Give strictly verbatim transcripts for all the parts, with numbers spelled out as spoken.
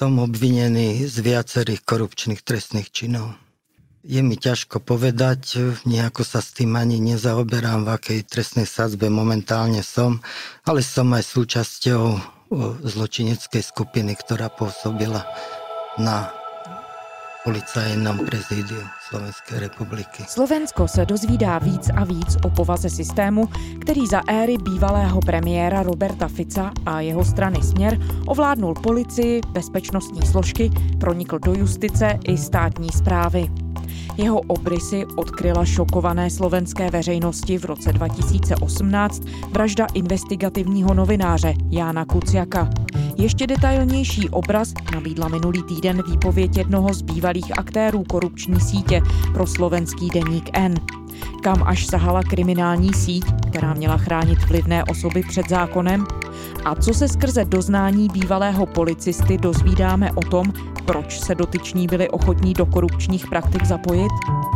Som obvinený z viacerých korupčných trestných činov. Je mi ťažko povedať, nejako sa s tým ani nezaoberám, v akej trestnej sadzbe momentálne som, ale som aj súčasťou zločineckej skupiny, ktorá pôsobila na policajnom prezídiu Slovenské republiky. Slovensko se dozvídá víc a víc o povaze systému, který za éry bývalého premiéra Roberta Fica a jeho strany Směr ovládnul policii, bezpečnostní složky, pronikl do justice i státní správy. Jeho obrysy odkryla šokované slovenské veřejnosti v roce dva tisíce osmnáct vražda investigativního novináře Jána Kuciaka. Ještě detailnější obraz nabídla minulý týden výpověď jednoho z bývalých aktérů korupční sítě pro slovenský deník N. Kam až sahala kriminální síť, která měla chránit vlivné osoby před zákonem? A co se skrze doznání bývalého policisty dozvídáme o tom, proč se dotyční byli ochotní do korupčních praktik zapojit?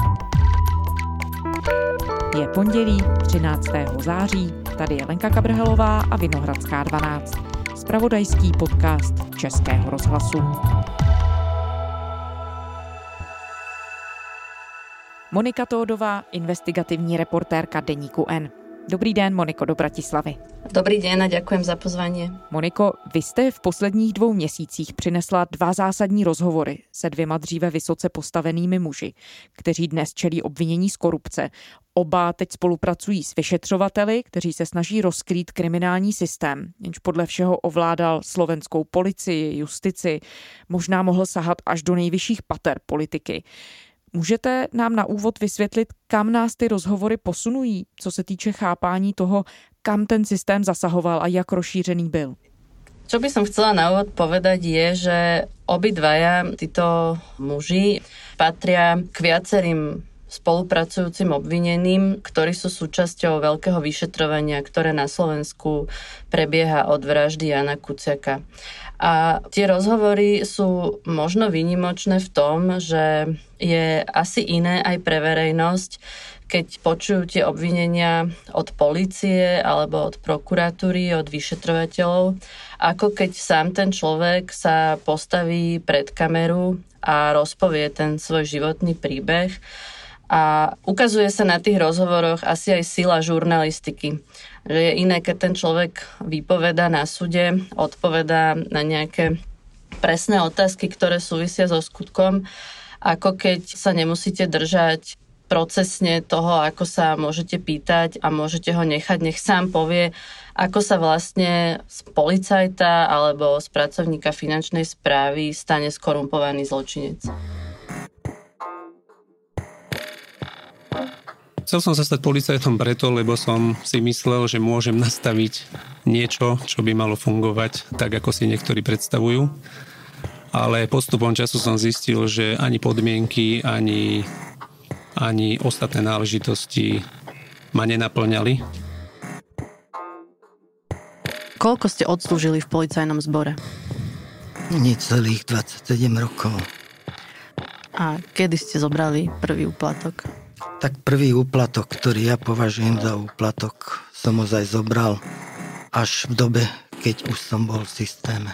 Je pondělí třináctého září, tady je Lenka Kabrhelová a Vinohradská dvanáct. Zpravodajský podcast Českého rozhlasu. Monika Tódová, investigativní reportérka deníku N. Dobrý den, Moniko, do Bratislavy. Dobrý den a ďakujem za pozvání. Moniko, vy jste v posledních dvou měsících přinesla dva zásadní rozhovory se dvěma dříve vysoce postavenými muži, kteří dnes čelí obvinění z korupce. Oba teď spolupracují s vyšetřovateli, kteří se snaží rozkrýt kriminální systém, jenž podle všeho ovládal slovenskou policii, justici, možná mohl sahat až do nejvyšších pater politiky. Můžete nám na úvod vysvětlit, kam nás ty rozhovory posunují, co se týče chápání toho, kam ten systém zasahoval a jak rozšířený byl? Čo by som chcela na úvod povedať je, že obidvaja títo muži patria k viacerým spolupracujúcim obvineným, ktorí sú súčasťou veľkého vyšetrovania, ktoré na Slovensku prebieha od vraždy Jána Kuciaka. A tie rozhovory sú možno výnimočné v tom, že je asi iné aj pre verejnosť, keď počujú tie obvinenia od polície alebo od prokuratúry, od vyšetrovateľov, ako keď sám ten človek sa postaví pred kameru a rozpovie ten svoj životný príbeh. A ukazuje sa na tých rozhovoroch asi aj sila žurnalistiky. Že je iné, keď ten človek vypovedá na súde, odpovedá na nejaké presné otázky, ktoré súvisia so skutkom, ako keď sa nemusíte držať procesne toho, ako sa môžete pýtať a môžete ho nechať, nech sám povie, ako sa vlastne z policajta alebo z pracovníka finančnej správy stane skorumpovaný zločinec. Chcel som sa stať policajtom preto, lebo som si myslel, že môžem nastaviť niečo, čo by malo fungovať tak, ako si niektorí predstavujú. Ale postupom času som zistil, že ani podmienky, ani, ani ostatné náležitosti ma nenaplňali. Koľko ste odslúžili v policajnom zbore? Necelých dvadsaťsedem rokov. A kedy ste zobrali prvý úplatok? Tak prvý úplatok, ktorý ja považujem za úplatok, som ozaj zobral až v dobe, keď už som bol v systéme.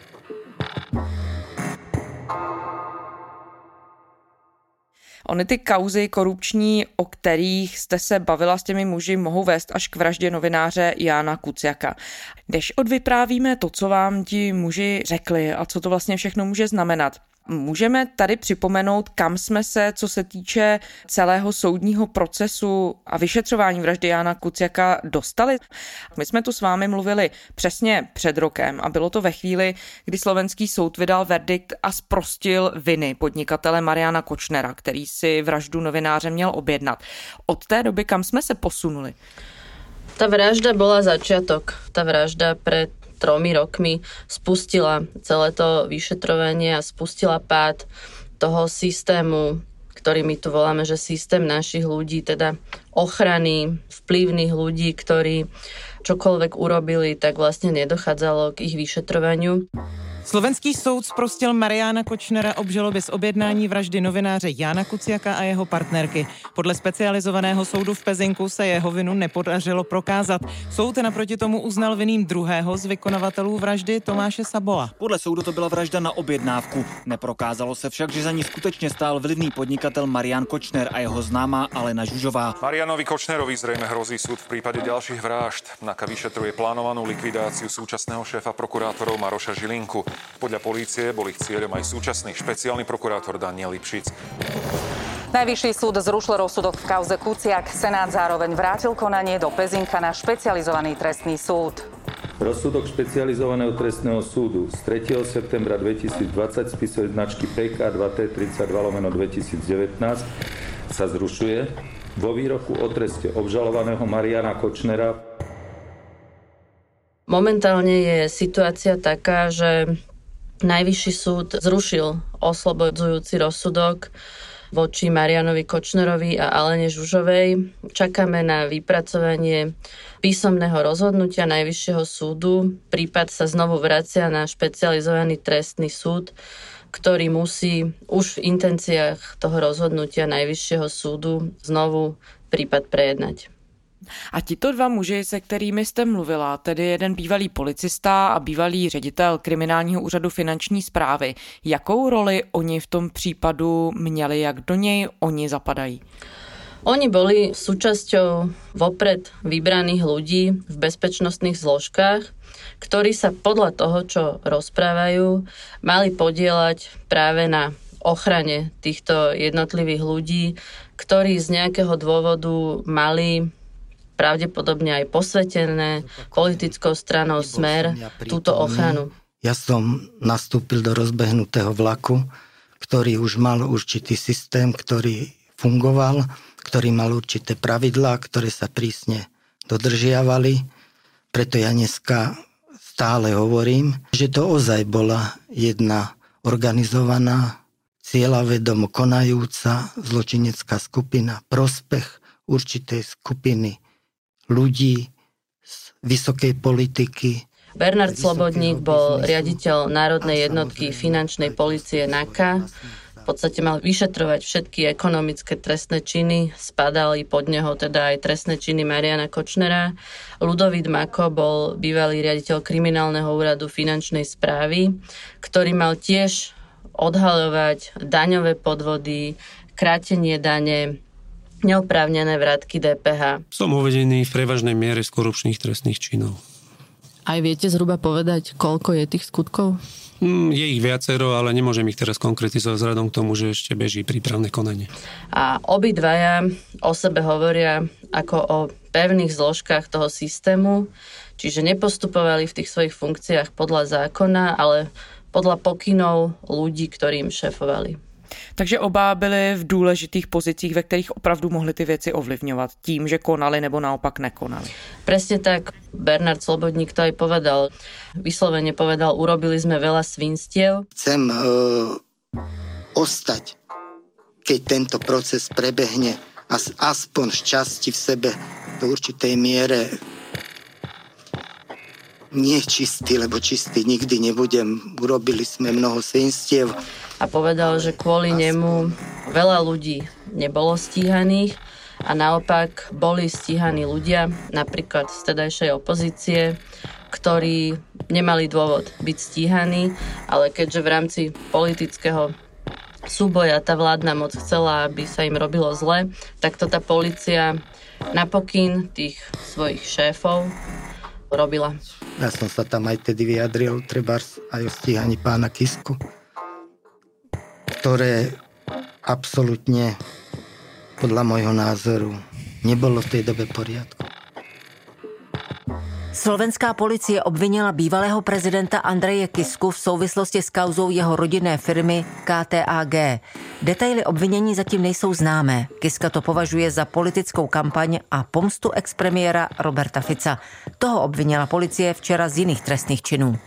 Ony ty kauzy korupční, o kterých jste se bavila s těmi muži, mohou vést až k vraždě novináře Jána Kuciaka. Když odvyprávíme to, co vám ti muži řekli a co to vlastně všechno může znamenat, můžeme tady připomenout, kam jsme se, co se týče celého soudního procesu a vyšetřování vraždy Jána Kuciaka dostali? My jsme tu s vámi mluvili přesně před rokem a bylo to ve chvíli, kdy slovenský soud vydal verdikt a zprostil viny podnikatele Mariana Kočnera, který si vraždu novináře měl objednat. Od té doby kam jsme se posunuli? Ta vražda bola začiatok. Ta vražda pred tromi rokmi spustila celé to vyšetrovanie a spustila pád toho systému, ktorý my tu voláme, že systém našich ľudí, teda ochrany vplyvných ľudí, ktorí čokoľvek urobili, tak vlastne nedochádzalo k ich vyšetrovaniu. Slovenský soud zprostil Mariána Kočnera obžaloby z objednání vraždy novináře Jána Kuciaka a jeho partnerky. Podle specializovaného soudu v Pezinku se jeho vinu nepodařilo prokázat. Soud naproti tomu uznal vinným druhého z vykonavatelů vraždy Tomáše Saboa. Podle soudu to byla vražda na objednávku. Neprokázalo se však, že za ní skutečně stál vlivný podnikatel Marián Kočner a jeho známá Alena Žužová. Marianovi Kočnerovi zrejme hrozí súd v prípade ďalších vražd. NAKA vyšetruje plánovanú likvidáciu súčasného šéfa prokurátorov Maroša Žilinku. Podľa polície bol ich cieľom aj súčasný špeciálny prokurátor Daniel Lipšic. Najvyšší súd zrušil rozsudok v kauze Kuciak. Senát zároveň vrátil konanie do Pezinka na špecializovaný trestný súd. Rozsudok špecializovaného trestného súdu z tretieho septembra dvetisícdvadsať spisovej značky pé ká dva té tridsaťdva lomeno dvetisícdevätnásť sa zrušuje vo výroku o treste obžalovaného Mariána Kočnera. Momentálne je situácia taká, že Najvyšší súd zrušil oslobodzujúci rozsudok voči Marianovi Kočnerovi a Alene Žužovej. Čakáme na vypracovanie písomného rozhodnutia Najvyššieho súdu. Prípad sa znovu vracia na špecializovaný trestný súd, ktorý musí už v intenciách toho rozhodnutia Najvyššieho súdu znovu prípad prejednať. A tito dva muži, se kterými jste mluvila, tedy jeden bývalý policista a bývalý ředitel kriminálního úřadu finanční správy, jakou roli oni v tom případu měli, jak do něj oni zapadají? Oni boli súčasťou vopred vybraných ľudí v bezpečnostných zložkách, ktorí sa podľa toho, čo rozprávajú, mali podieľať práve na ochrane týchto jednotlivých ľudí, ktorí z nejakého dôvodu mali pravdepodobne aj posvetené politickou stranou Smer túto ochranu. Ja som nastúpil do rozbehnutého vlaku, ktorý už mal určitý systém, ktorý fungoval, ktorý mal určité pravidlá, ktoré sa prísne dodržiavali. Preto ja dneska stále hovorím, že to ozaj bola jedna organizovaná, cieľavedomo konajúca zločinecká skupina, prospech určitej skupiny ľudí z vysokej politiky. Bernard Slobodník bol riaditeľ Národnej jednotky finančnej polície NAKA. V podstate mal vyšetrovať všetky ekonomické trestné činy. Spadali pod neho teda aj trestné činy Mariána Kočnera. Ľudovít Mako bol bývalý riaditeľ kriminálneho úradu finančnej správy, ktorý mal tiež odhaľovať daňové podvody, krátenie dane, neoprávnené vrátky dé pé há. Som uvedený v prevažnej miere z korupčných trestných činov. Aj viete zhruba povedať, koľko je tých skutkov? Mm, je ich viacero, ale nemôžem ich teraz konkretizovať vzhľadom k tomu, že ešte beží prípravné konanie. A obidvaja o sebe hovoria ako o pevných zložkách toho systému, čiže nepostupovali v tých svojich funkciách podľa zákona, ale podľa pokynov ľudí, ktorým šéfovali. Takže oba byli v důležitých pozicích, ve kterých opravdu mohli ty věci ovlivňovat tím, že konali nebo naopak nekonali. Presne tak. Bernard Slobodník to aj povedal. Vyslovene povedal, urobili sme veľa svinstiev. Chcem uh, ostať, keď tento proces prebehne as, aspoň z časti v sebe do určitej miere nie čistý, lebo čistý nikdy nebudem. Urobili sme mnoho svinstiev. A povedal, že kvôli nemu veľa ľudí nebolo stíhaných a naopak boli stíhaní ľudia, napríklad z tedajšej opozície, ktorí nemali dôvod byť stíhaní, ale keďže v rámci politického súboja tá vládna moc chcela, aby sa im robilo zle, tak to tá polícia na pokyn tých svojich šéfov robila. Ja som sa tam aj tedy vyjadril, trebárs aj o stíhaní pána Kisku, ktoré absolútne podľa môjho názoru nebolo v tej dobe v poriadku. Slovenská policie obvinila bývalého prezidenta Andreje Kisku v souvislosti s kauzou jeho rodinné firmy ká té á gé. Detaily obvinění zatím nejsou známé. Kiska to považuje za politickou kampaň a pomstu expremiéra Roberta Fica. Toho obvinila policie včera z jiných trestných činů.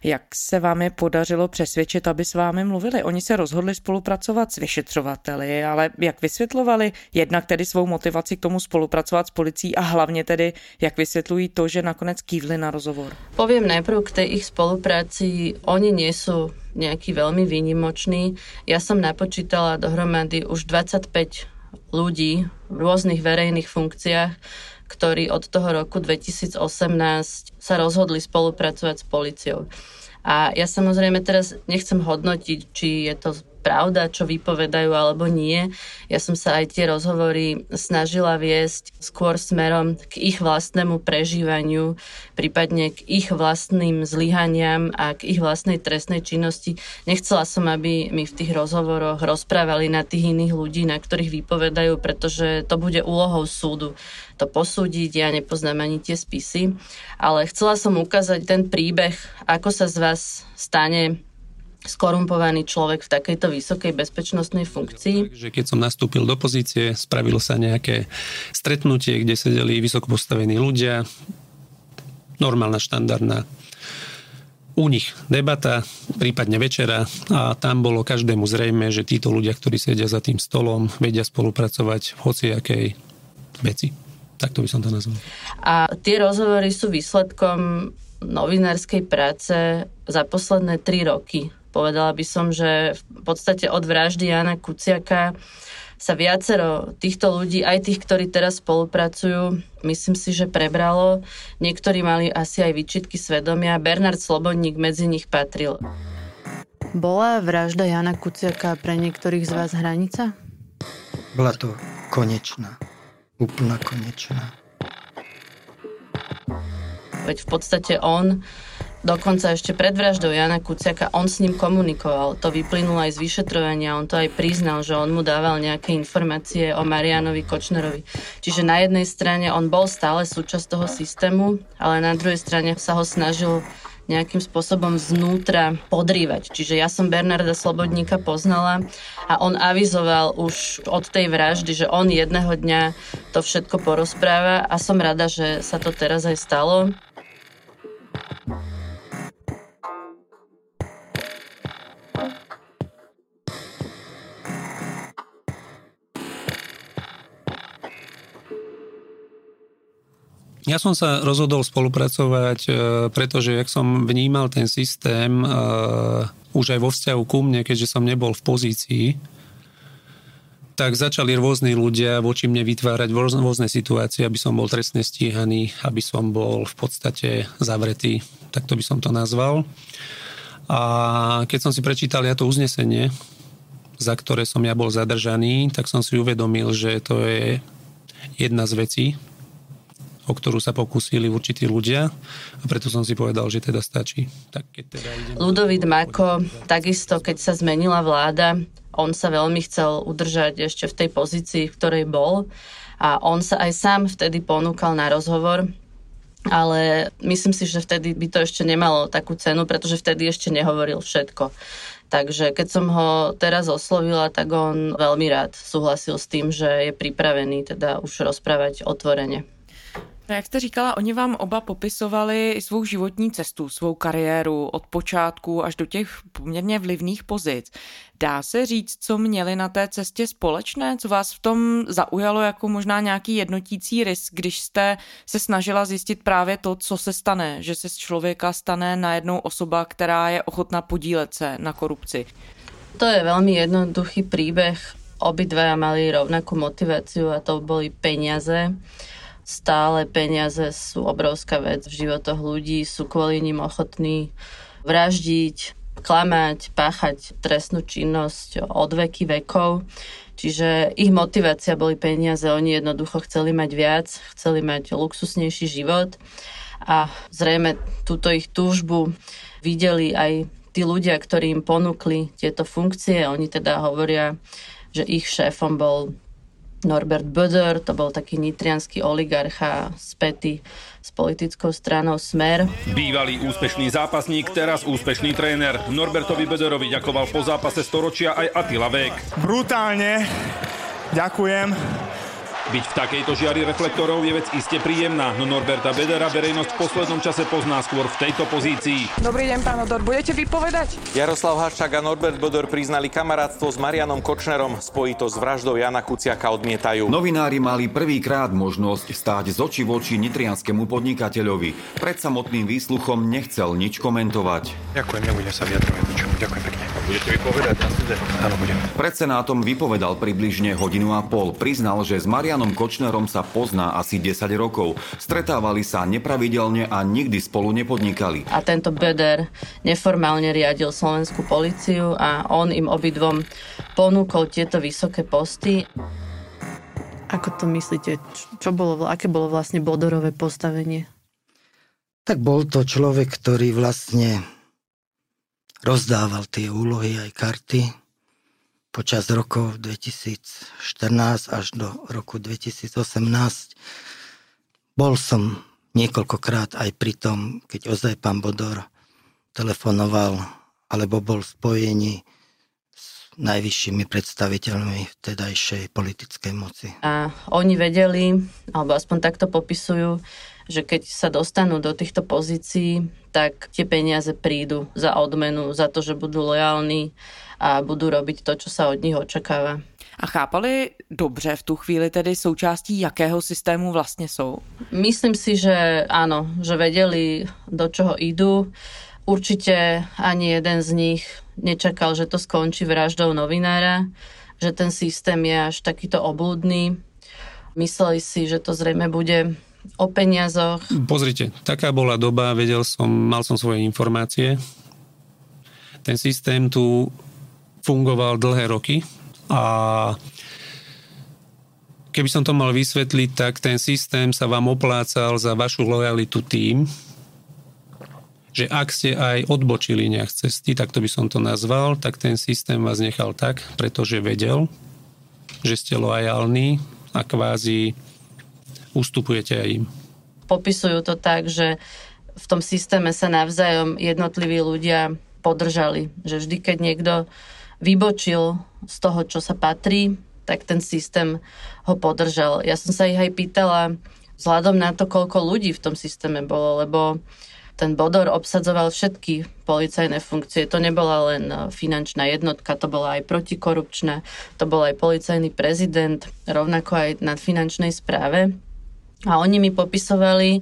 Jak se vám je podařilo přesvědčit, aby s vámi mluvili? Oni se rozhodli spolupracovat s vyšetřovateli, ale jak vysvětlovali jednak tedy svou motivaci k tomu spolupracovat s policií a hlavně tedy, jak vysvětlují to, že nakonec kývli na rozhovor? Poviem najprv k tej ich spolupráci. Oni nie sú nejaký veľmi výnimočný. Ja som napočítala dohromady už dvadsaťpäť ľudí v rôznych verejných funkciách, ktorí od toho roku dvetisícosemnásť sa rozhodli spolupracovať s políciou. A ja samozrejme teraz nechcem hodnotiť, či je to pravda, čo vypovedajú alebo nie. Ja som sa aj tie rozhovory snažila viesť skôr smerom k ich vlastnému prežívaniu, prípadne k ich vlastným zlyhaniam a k ich vlastnej trestnej činnosti. Nechcela som, aby mi v tých rozhovoroch rozprávali na tých iných ľudí, na ktorých vypovedajú, pretože to bude úlohou súdu to posúdiť, ja nepoznám ani tie spisy, ale chcela som ukázať ten príbeh, ako sa z vás stane skorumpovaný človek v takejto vysokej bezpečnostnej funkcii. Takže keď som nastúpil do pozície, spravilo sa nejaké stretnutie, kde sedeli vysoko postavení ľudia, normálna, štandardná u nich debata, prípadne večera a tam bolo každému zrejme, že títo ľudia, ktorí sedia za tým stolom, vedia spolupracovať v hociakej veci. Takto by som to nazval. A tie rozhovory sú výsledkom novinárskej práce za posledné tri roky. Povedala by som, že v podstate od vraždy Jána Kuciaka sa viacero týchto ľudí, aj tých, ktorí teraz spolupracujú, myslím si, že prebralo. Niektorí mali asi aj výčitky svedomia. Bernard Slobodník medzi nich patril. Bola vražda Jána Kuciaka pre niektorých z vás hranica? Bola to konečná. Úplná konečná. Veď v podstate on dokonca ešte pred vraždou Jána Kuciaka, on s ním komunikoval. To vyplynulo aj z vyšetrovania, on to aj priznal, že on mu dával nejaké informácie o Marianovi Kočnerovi. Čiže na jednej strane on bol stále súčasť toho systému, ale na druhej strane sa ho snažil nejakým spôsobom znútra podrývať. Čiže ja som Bernarda Slobodníka poznala a on avizoval už od tej vraždy, že on jedného dňa to všetko porozpráva a som rada, že sa to teraz aj stalo. Ja som sa rozhodol spolupracovať, pretože jak som vnímal ten systém už aj vo vzťahu ku mne, keďže som nebol v pozícii, tak začali rôzni ľudia voči mne vytvárať rôzne situácie, aby som bol trestne stíhaný, aby som bol v podstate zavretý, tak to by som to nazval. A keď som si prečítal ja to uznesenie, za ktoré som ja bol zadržaný, tak som si uvedomil, že to je jedna z vecí, o ktorú sa pokúsili určití ľudia a preto som si povedal, že teda stačí. Tak keď teda idem... Ľudovít Máko, takisto keď sa zmenila vláda, on sa veľmi chcel udržať ešte v tej pozícii, v ktorej bol a on sa aj sám vtedy ponúkal na rozhovor, ale myslím si, že vtedy by to ešte nemalo takú cenu, pretože vtedy ešte nehovoril všetko. Takže keď som ho teraz oslovila, tak on veľmi rád súhlasil s tým, že je pripravený teda už rozprávať otvorene. No, jak jste říkala, oni vám oba popisovali svou životní cestu, svou kariéru od počátku až do těch poměrně vlivných pozic. Dá se říct, co měli na té cestě společné? Co vás v tom zaujalo jako možná nějaký jednotící rys, když jste se snažila zjistit právě to, co se stane, že se z člověka stane najednou osoba, která je ochotná podílet se na korupci? To je veľmi jednoduchý príbeh. Obidvaja mali rovnakú motiváciu a to boli peniaze. Stále peniaze sú obrovská vec v životoch ľudí, sú kvôli nim ochotní vraždiť, klamať, páchať trestnú činnosť od veky vekov. Čiže ich motivácia boli peniaze, oni jednoducho chceli mať viac, chceli mať luxusnejší život a zrejme túto ich túžbu videli aj tí ľudia, ktorí im ponúkli tieto funkcie. Oni teda hovoria, že ich šéfom bol Norbert Böder, to bol taký nitriansky oligarcha spätý s politickou stranou Smer. Bývalý úspešný zápasník, teraz úspešný tréner. Norbertovi Böderovi ďakoval po zápase storočia aj Attila Vek. Brutálne, ďakujem. Byť v takejto žiari reflektorov je vec iste príjemná, no Norberta Bedera verejnosť v poslednom čase pozná skôr v tejto pozícii. Dobrý deň, pán Odor, budete vypovedať? Jaroslav Haščák a Norbert Bodor priznali kamarátstvo s Marianom Kočnerom, spojito s vraždou Jana Kuciaka odmietajú. Novinári mali prvýkrát možnosť stáť z očí v oči nitrianskému podnikateľovi. Pred samotným výsluchom nechcel nič komentovať. Ďakujem, nebudem sa vyjadrovať ničomu. Ďakujem pekne. Budete vypovedať na súde? Áno, budem. Pred senátom vypovedal približne hodinu a pol. Priznal, že s Marianom Kočnerom sa pozná asi desať rokov. Stretávali sa nepravidelne a nikdy spolu nepodnikali. A tento Beder neformálne riadil slovenskú políciu a on im obidvom ponúkol tieto vysoké posty. Ako to myslíte? Čo bolo, aké bolo vlastne Bodorové postavenie? Tak bol to človek, ktorý vlastne rozdával tie úlohy aj karty počas rokov dvetisícštrnásť až do roku dvetisícosemnásť. Bol som niekoľkokrát aj pri tom, keď ozaj pán Bodor telefonoval alebo bol v spojení s najvyššími predstaviteľmi vtedajšej politickej moci. A oni vedeli, alebo aspoň takto popisujú, že keď sa dostanú do týchto pozícií, tak tie peniaze prídu za odmenu, za to, že budú lojálni a budú robiť to, čo sa od nich očakáva. A chápali dobře v tu chvíli tedy součástí jakého systému vlastně jsou? Myslím si, že áno, že vedeli, do čoho idú. Určite ani jeden z nich nečakal, že to skončí vraždou novinára, že ten systém je až takýto obludný. Mysleli si, že to zrejme bude o peniazoch. Pozrite, taká bola doba, vedel som, mal som svoje informácie. Ten systém tu fungoval dlhé roky a keby som to mal vysvetliť, tak ten systém sa vám oplácal za vašu lojalitu tým, že ak ste aj odbočili nejak z cesty, tak to by som to nazval, tak ten systém vás nechal tak, pretože vedel, že ste lojálni a kvázi ustupujete aj im. Popisujú to tak, že v tom systéme sa navzájom jednotliví ľudia podržali. Že vždy, keď niekto vybočil z toho, čo sa patrí, tak ten systém ho podržal. Ja som sa ich aj pýtala vzhľadom na to, koľko ľudí v tom systéme bolo, lebo ten Bodor obsadzoval všetky policajné funkcie. To nebola len finančná jednotka, to bola aj protikorupčná, to bol aj policajný prezident, rovnako aj na finančnej správe. A oni mi popisovali,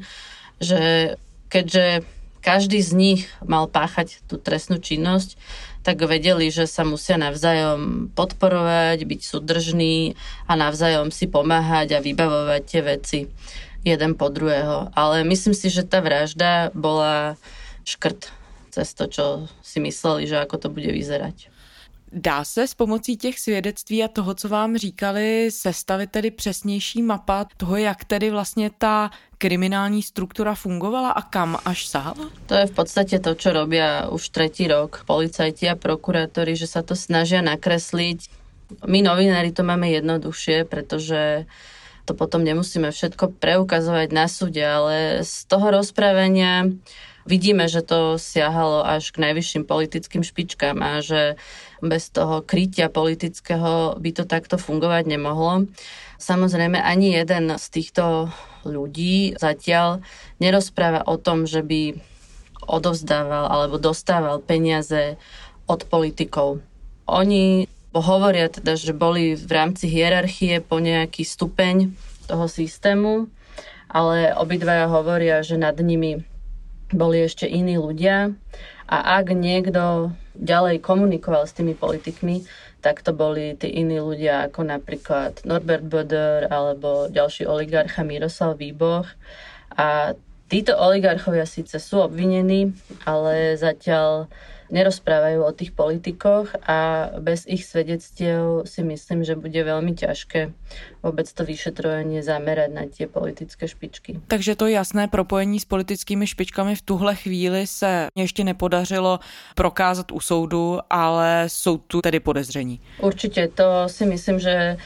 že keďže každý z nich mal páchať tú trestnú činnosť, tak vedeli, že sa musia navzájom podporovať, byť súdržní a navzájom si pomáhať a vybavovať tie veci jeden po druhého. Ale myslím si, že tá vražda bola škrt cez to, čo si mysleli, že ako to bude vyzerať. Dá se s pomocí těch svědectví a toho, co vám říkali, sestavit tedy přesnější mapa toho, jak tedy vlastně ta kriminální struktura fungovala a kam až sahala? To je v podstate to, čo robia už tretí rok policajti a prokurátori, že sa to snažia nakresliť. My novinári to máme jednoduchšie, pretože to potom nemusíme všetko preukazovať na súde, ale z toho rozprávania vidíme, že to siahalo až k najvyšším politickým špičkám a že bez toho krytia politického by to takto fungovať nemohlo. Samozrejme, ani jeden z týchto ľudí zatiaľ nerozpráva o tom, že by odovzdával alebo dostával peniaze od politikov. Oni hovoria teda, že boli v rámci hierarchie po nejaký stupeň toho systému, ale obidvaja hovoria, že nad nimi boli ešte iní ľudia a ak niekto ďalej komunikoval s tými politikmi, tak to boli tí iní ľudia ako napríklad Norbert Bodor alebo ďalší oligarcha Miroslav Výboh. A títo oligarchovia síce sú obvinení, ale zatiaľ nerozprávajú o tých politikoch a bez ich svedectiev si myslím, že bude veľmi ťažké vôbec to vyšetrovanie zamerať na tie politické špičky. Takže to jasné propojení s politickými špičkami v tuhle chvíli se ještě nepodařilo prokázat u soudu, ale jsou tu tedy podezření. Určite, to si myslím, že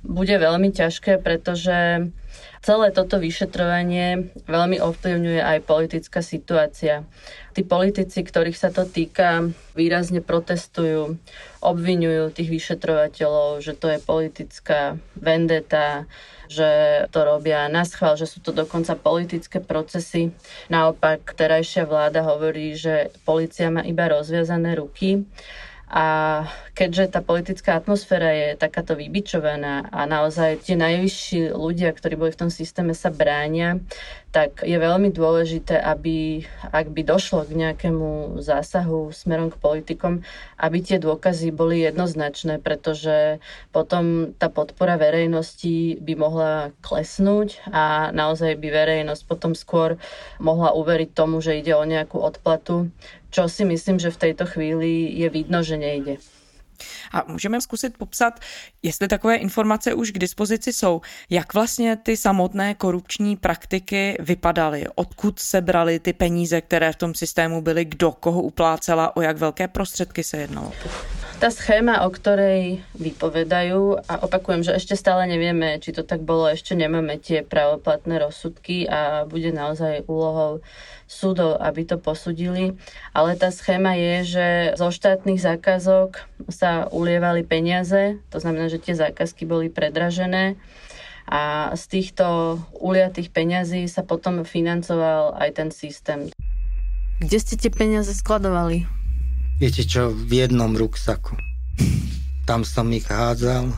bude veľmi ťažké, pretože celé toto vyšetrovanie veľmi ovplyvňuje aj politická situácia. Tí politici, ktorých sa to týka, výrazne protestujú, obviňujú tých vyšetrovateľov, že to je politická vendeta, že to robia naschvál, že sú to dokonca politické procesy. Naopak, terajšia vláda hovorí, že polícia má iba rozviazané ruky. A keďže tá politická atmosféra je takáto vybičovaná a naozaj tie najvyšší ľudia, ktorí boli v tom systéme, sa bránia, tak je veľmi dôležité, aby, ak by došlo k nejakému zásahu smerom k politikom, aby tie dôkazy boli jednoznačné, pretože potom tá podpora verejnosti by mohla klesnúť a naozaj by verejnosť potom skôr mohla uveriť tomu, že ide o nejakú odplatu, čo si myslím, že v tejto chvíli je vidno, že nejde. A můžeme zkusit popsat, jestli takové informace už k dispozici jsou, jak vlastně ty samotné korupční praktiky vypadaly, odkud se braly ty peníze, které v tom systému byly, kdo koho uplácela, o jak velké prostředky se jednalo. Tá schéma, o ktorej vypovedajú, a opakujem, že ešte stále nevieme, či to tak bolo, ešte nemáme tie právoplatné rozsudky a bude naozaj úlohou súdov, aby to posúdili. Ale tá schéma je, že zo štátnych zákazok sa ulievali peniaze, to znamená, že tie zákazky boli predražené a z týchto uliatých peňazí sa potom financoval aj ten systém. Kde ste tie peniaze skladovali? Viete čo, v jednom ruksaku. Tam som ich hádzal.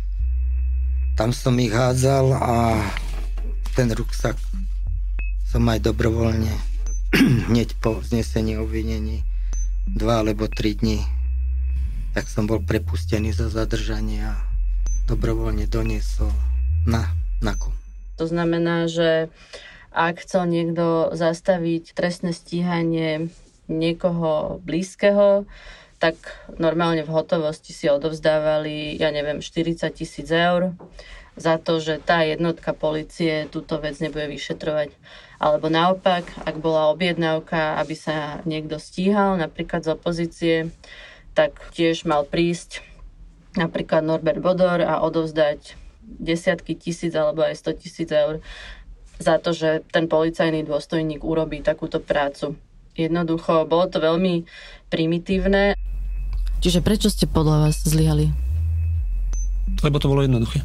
Tam som ich hádzal a ten ruksak som aj dobrovoľne hneď po znesení obvinení dva alebo tri dní, tak som bol prepustený za zadržanie a dobrovoľne doniesol na naku. To znamená, že ak chcel niekto zastaviť trestné stíhanie niekoho blízkeho, tak normálne v hotovosti si odovzdávali, ja neviem, štyridsať tisíc eur za to, že tá jednotka polície túto vec nebude vyšetrovať. Alebo naopak, ak bola objednávka, aby sa niekto stíhal, napríklad z opozície, tak tiež mal prísť napríklad Norbert Bodor a odovzdať desiatky tisíc alebo aj sto tisíc eur za to, že ten policajný dôstojník urobí takúto prácu. Jednoducho, bolo to veľmi primitívne. Čiže prečo ste podľa vás zlyhali? Lebo to bolo jednoduché.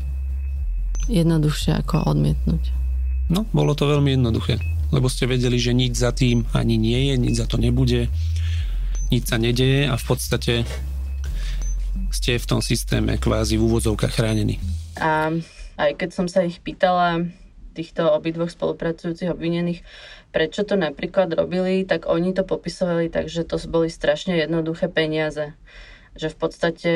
Jednoduchšie ako odmietnúť. No, bolo to veľmi jednoduché. Lebo ste vedeli, že nič za tým ani nie je, nič za to nebude, nič sa nedeje a v podstate ste v tom systéme kvázi v úvodzovkách chránení. A aj keď som sa ich pýtala, týchto obidvoch spolupracujúcich obvinených, prečo to napríklad robili, tak oni to popisovali tak, že to boli strašne jednoduché peniaze. Že v podstate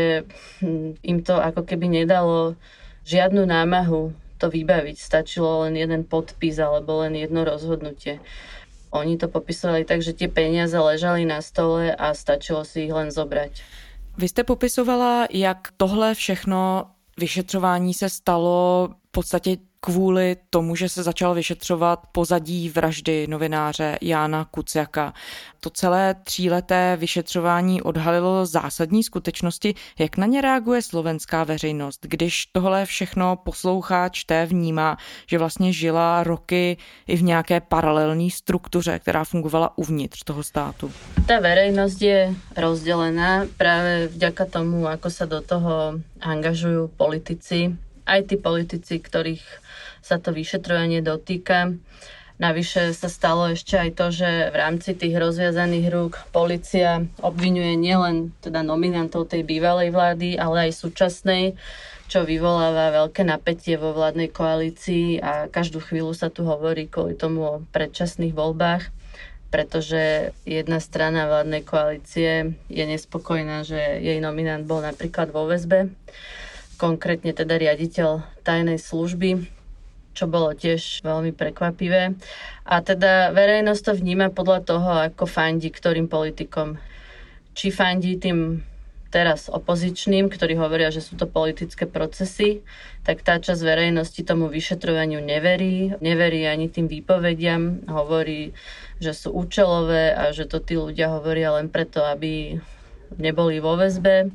im to ako keby nedalo žiadnu námahu to vybaviť. Stačilo len jeden podpis alebo len jedno rozhodnutie. Oni to popisovali tak, že tie peniaze ležali na stole a stačilo si ich len zobrať. Vy jste popisovala, jak tohle všechno vyšetřování se stalo v podstatě kvůli tomu, že se začal vyšetřovat pozadí vraždy novináře Jána Kuciaka. To celé tříleté vyšetřování odhalilo zásadní skutečnosti. Jak na ně reaguje slovenská veřejnost, když tohle všechno poslouchá, čte, vnímá, že vlastně žila roky i v nějaké paralelní struktuře, která fungovala uvnitř toho státu? Tá verejnosť je rozdelená práve vďaka tomu, ako sa do toho angažujú politici, aj tí politici, ktorých sa to vyšetrovanie dotýka. Navyše sa stalo ešte aj to, že v rámci tých rozviazaných rúk polícia obviňuje nielen teda nominantov tej bývalej vlády, ale aj súčasnej, čo vyvoláva veľké napätie vo vládnej koalícii a každú chvíľu sa tu hovorí kvôli tomu o predčasných voľbách, pretože jedna strana vládnej koalície je nespokojná, že jej nominant bol napríklad vo väzbe, konkrétne teda riaditeľ tajnej služby, čo bolo tiež veľmi prekvapivé. A teda verejnosť to vníma podľa toho, ako fandí ktorým politikom. Či fandí tým teraz opozičným, ktorí hovoria, že sú to politické procesy, tak tá časť verejnosti tomu vyšetrovaniu neverí. Neverí ani tým výpovediam. Hovorí, že sú účelové a že to tí ľudia hovoria len preto, aby neboli vo väzbe.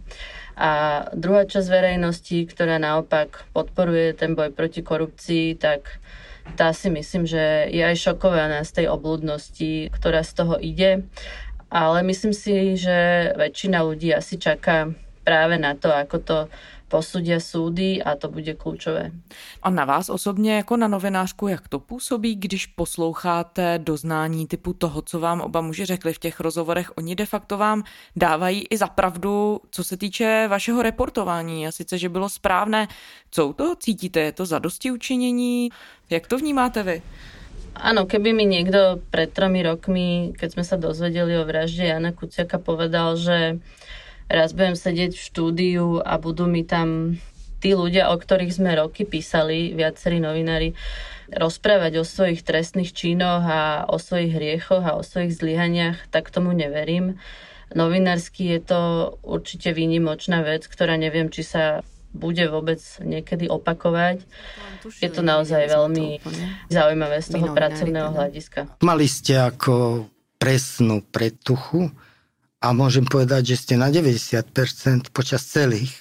A druhá časť verejnosti, ktorá naopak podporuje ten boj proti korupcii, tak tá si myslím, že je aj šokovaná z tej obľudnosti, ktorá z toho ide. Ale myslím si, že väčšina ľudí asi čaká práve na to, ako to posúdia súdy a to bude kľúčové. A na vás osobně jako na novinářku, jak to působí, když posloucháte doznání typu toho, co vám oba muži řekli v těch rozhovorech? Oni de facto vám dávají i za pravdu, co se týče vašeho reportování. A sice, že bylo správné. Co u toho cítíte? Je to zadostiučinění? Jak to vnímáte vy? Áno, keby mi niekto pred tromi rokmi, keď sme sa dozvedeli o vražde Jana Kuciaka, povedal, že raz budem sedieť v štúdiu a budú mi tam tí ľudia, o ktorých sme roky písali, viacerí novinári, rozprávať o svojich trestných činoch a o svojich hriechoch a o svojich zlyhaniach, tak tomu neverím. Novinársky je to určite výnimočná vec, ktorá neviem, či sa bude vôbec niekedy opakovať. Je to naozaj veľmi zaujímavé z toho pracovného hľadiska. Mali ste ako presnú predtuchu a môžem povedať, že ste na deväťdesiat percent počas celých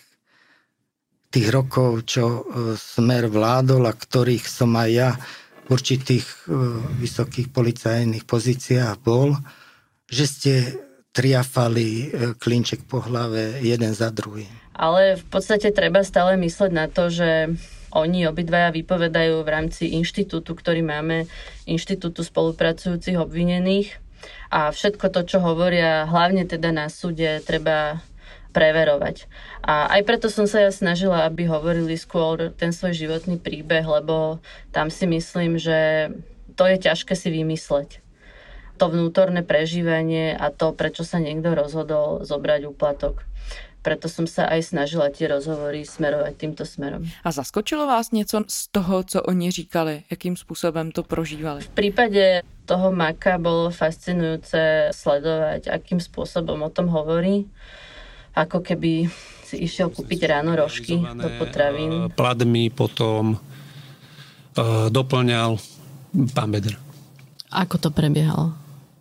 tých rokov, čo Smer vládol a ktorých som aj ja v určitých vysokých policajných pozíciách bol, že ste triafali klinček po hlave jeden za druhým. Ale v podstate treba stále mysleť na to, že oni obidvaja vypovedajú v rámci inštitútu, ktorý máme, inštitútu spolupracujúcich obvinených. A všetko to, čo hovoria, hlavne teda na súde, treba preverovať. A aj preto som sa ja snažila, aby hovorili skôr ten svoj životný príbeh, lebo tam si myslím, že to je ťažké si vymysleť. To vnútorné prežívanie a to, prečo sa niekto rozhodol zobrať úplatok. Preto som sa aj snažila tie rozhovory smerovať týmto smerom. A zaskočilo vás něco z toho, co oni říkali? Jakým způsobem to prožívali? V prípade toho Maka bolo fascinujúce sledovať, akým spôsobom o tom hovorí. Ako keby si išiel kúpiť ráno rožky do potravín. Platmi potom uh, doplňal pán Beder. Ako to prebiehalo?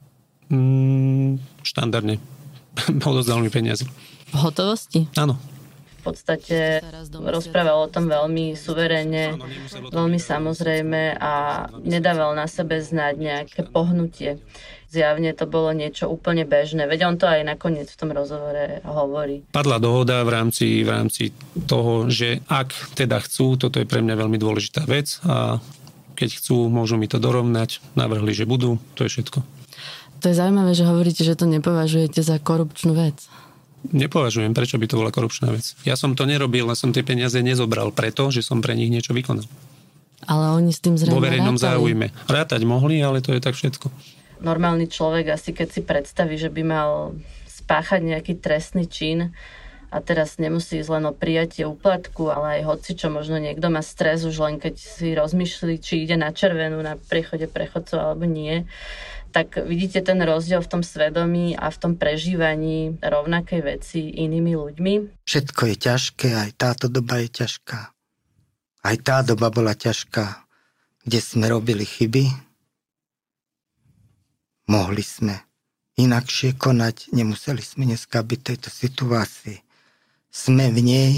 Mm, štandardne. Odozdal mi peniaze. V hotovosti? Áno. V podstate rozprával o tom veľmi suverénne, veľmi samozrejme a nedával na sebe znať nejaké pohnutie. Zjavne to bolo niečo úplne bežné. Veď on to aj nakoniec v tom rozhovore hovorí. Padla dohoda v rámci, v rámci toho, že ak teda chcú, toto je pre mňa veľmi dôležitá vec a keď chcú, môžu mi to dorovnať, navrhli, že budú, to je všetko. To je zaujímavé, že hovoríte, že to nepovažujete za korupčnú vec. Nepovažujem, prečo by to bola korupčná vec. Ja som to nerobil, ale som tie peniaze nezobral preto, že som pre nich niečo vykonal. Ale oni s tým zrejme vo verejnom rátali. záujme. Rátať mohli, ale to je tak všetko. Normálny človek asi keď si predstaví, že by mal spáchať nejaký trestný čin a teraz nemusí ísť len o prijatie úplatku, ale aj hoci čo, možno niekto má stres už len keď si rozmýšľi, či ide na červenú na priechode prechodcov alebo nie, tak vidíte ten rozdiel v tom svedomí a v tom prežívaní rovnakej veci inými ľuďmi. Všetko je ťažké, aj táto doba je ťažká. Aj tá doba bola ťažká, kde sme robili chyby. Mohli sme inakšie konať, nemuseli sme dneska byť v tejto situácii. Sme v nej,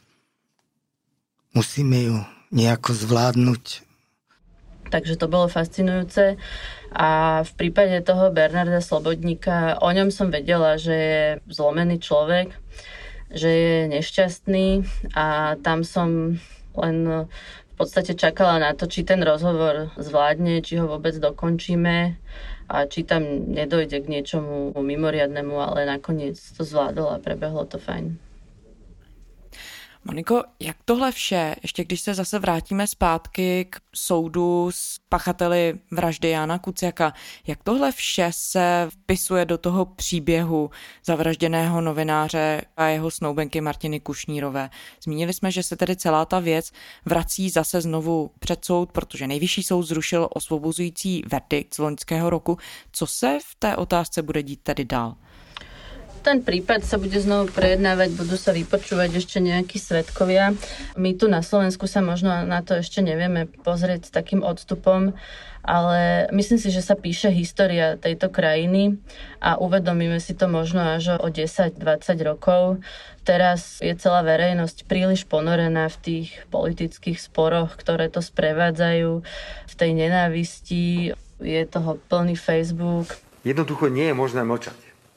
musíme ju nejako zvládnuť. Takže to bolo fascinujúce a v prípade toho Bernarda Slobodníka, o ňom som vedela, že je zlomený človek, že je nešťastný a tam som len v podstate čakala na to, či ten rozhovor zvládne, či ho vôbec dokončíme a či tam nedojde k niečomu mimoriadnemu, ale nakoniec to zvládol a prebehlo to fajn. Moniko, jak tohle vše, ještě když se zase vrátíme zpátky k soudu s pachateli vraždy Jana Kuciaka, jak tohle vše se vpisuje do toho příběhu zavražděného novináře a jeho snoubenky Martiny Kušnírové? Zmínili jsme, že se tedy celá ta věc vrací zase znovu před soud, protože nejvyšší soud zrušil osvobozující verdikt z loňského roku. Co se v té otázce bude dít tedy dál? ten prípad sa bude znovu prejednávať, budú sa vypočúvať ešte nejakí svedkovia. My tu na Slovensku sa možno na to ešte nevieme pozrieť s takým odstupom, ale myslím si, že sa píše história tejto krajiny a uvedomíme si to možno až o desať dvadsať rokov. Teraz je celá verejnosť príliš ponorená v tých politických sporoch, ktoré to sprevádzajú, v tej nenávisti, je toho plný Facebook. Jednoducho nie je možné mlčať.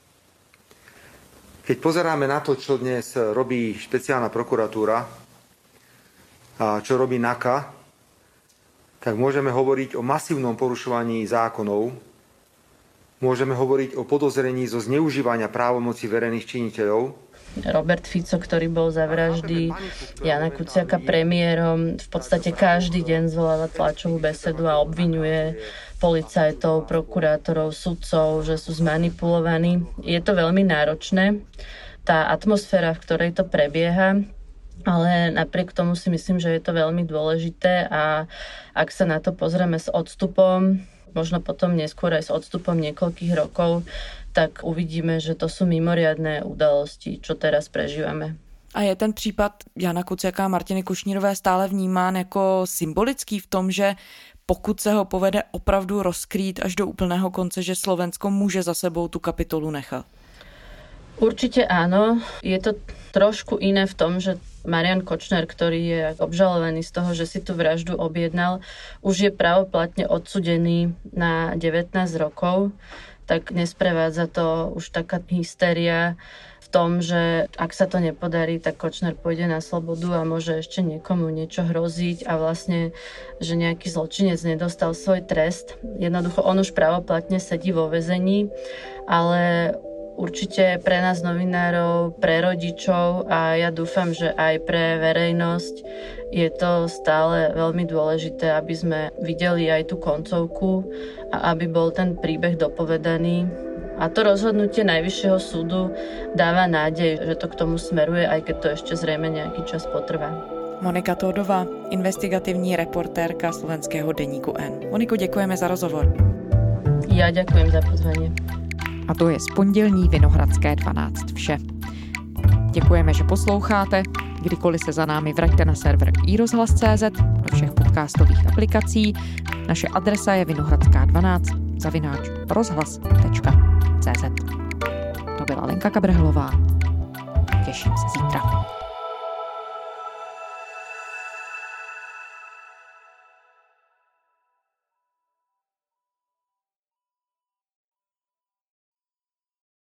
Keď pozeráme na to, čo dnes robí špeciálna prokuratúra a čo robí NAKA, tak môžeme hovoriť o masívnom porušovaní zákonov, môžeme hovoriť o podozrení zo zneužívania právomoci verejných činiteľov. Robert Fico, ktorý bol za vraždy Jana Kuciaka premiérom, v podstate každý deň zvoláva tlačovú besedu a obviňuje policajtov, prokurátorov, sudcov, že sú zmanipulovaní. Je to veľmi náročné, tá atmosféra, v ktorej to prebieha, ale napriek tomu si myslím, že je to veľmi dôležité a ak sa na to pozrieme s odstupom, možno potom neskôr aj s odstupom niekoľkých rokov, tak uvidíme, že to sú mimoriadne udalosti, čo teraz prežívame. A je ten případ Jana Kuciaka a Martiny Kušnírové stále vnímán jako symbolický v tom, že pokud se ho povede opravdu rozkrýt až do úplného konce, že Slovensko může za sebou tu kapitolu nechat? Určite áno. Je to trošku iné v tom, že Marian Kočner, ktorý je obžalovaný z toho, že si tú vraždu objednal, už je pravoplatne odsudený na devätnásť rokov, tak nesprevádza to už taká hystéria v tom, že ak sa to nepodarí, tak Kočner pôjde na slobodu a môže ešte niekomu niečo hroziť a vlastne, že nejaký zločinec nedostal svoj trest. Jednoducho on už pravoplatne sedí vo väzení, ale určite pre nás novinárov, pre rodičov a ja dúfam, že aj pre verejnosť je to stále veľmi dôležité, aby sme videli aj tú koncovku a aby bol ten príbeh dopovedaný. A to rozhodnutie Najvyššieho súdu dáva nádej, že to k tomu smeruje, aj keď to ešte zrejme nejaký čas potrvá. Monika Tódová, investigativní reportérka slovenského deníku N. Moniko, děkujeme za rozhovor. Ja ďakujem za pozvanie. A to je z pondělní Vinohradské dvanáct vše. Děkujeme, že posloucháte. Kdykoliv se za námi vraťte na server i rozhlas tečka cé zet, do všech podcastových aplikací. Naše adresa je vinohradská dvanáct zavináč rozhlas tečka cé zet. To byla Lenka Kabrhelová. Těším se zítra.